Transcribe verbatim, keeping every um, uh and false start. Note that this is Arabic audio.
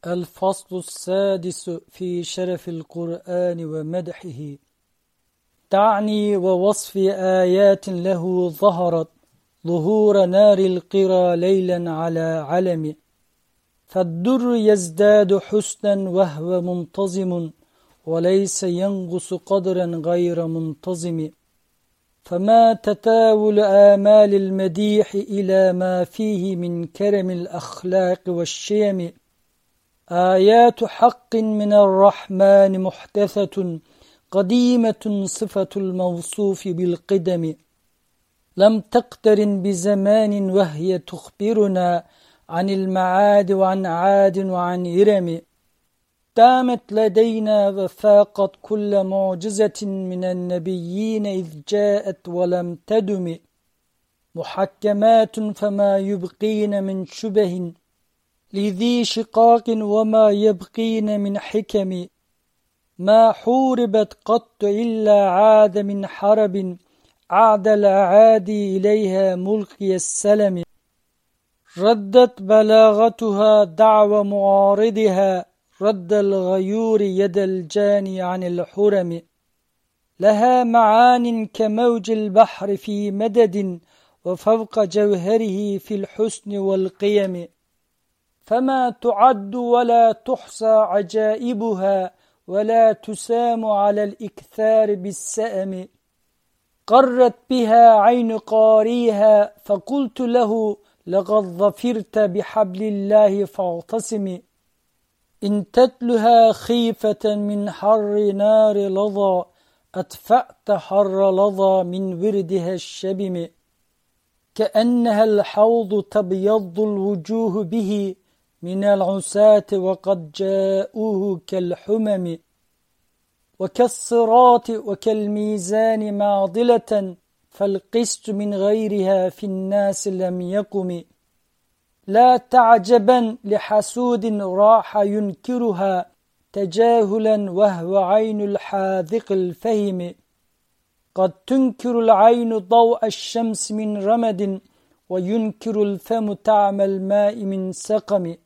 الفصل السادس في شرف القرآن ومدحه. تعني ووصف آيات له ظهرت ظهور نار القرى ليلا على علم، فالدر يزداد حسنا وهو منتظم، وليس ينقص قدرا غير منتظم. فما تتاول آمال المديح إلى ما فيه من كرم الأخلاق والشيم. آيات حق من الرحمن محدثة قديمة صفة الموصوف بالقدم، لم تقترن بزمان وهي تخبرنا عن المعاد وعن عاد وعن إرم. دامت لدينا وفاقت كل معجزة من النبيين إذ جاءت ولم تدم، محكمات فما يبقين من شبه لذي شقاق وما يبقين من حكم. ما حوربت قط إلا عاد من حرب، عاد الأعادي إليها ملقي السلم. ردت بلاغتها دعوى معارضها، رد الغيور يد الجاني عن الحرم. لها معان كموج البحر في مدد، وفوق جوهره في الحسن والقيم. فما تعد ولا تحصى عجائبها، ولا تسام على الإكثار بالسأم. قرت بها عين قاريها، فقلت له لقد ظفرت بحبل الله فاعتصم. إن تتلها خيفة من حر نار لظى، أدفأت حر لظى من وردها الشبم. كأنها الحوض تبيض الوجوه به من العساة وقد جاءوه كالحمم. وكالصراط وكالميزان معضلة، فالقسط من غيرها في الناس لم يقم. لا تعجبا لحسود راح ينكرها تجاهلا وهو عين الحاذق الفهم. قد تنكر العين ضوء الشمس من رمد، وينكر الفم طعم الماء من سقم.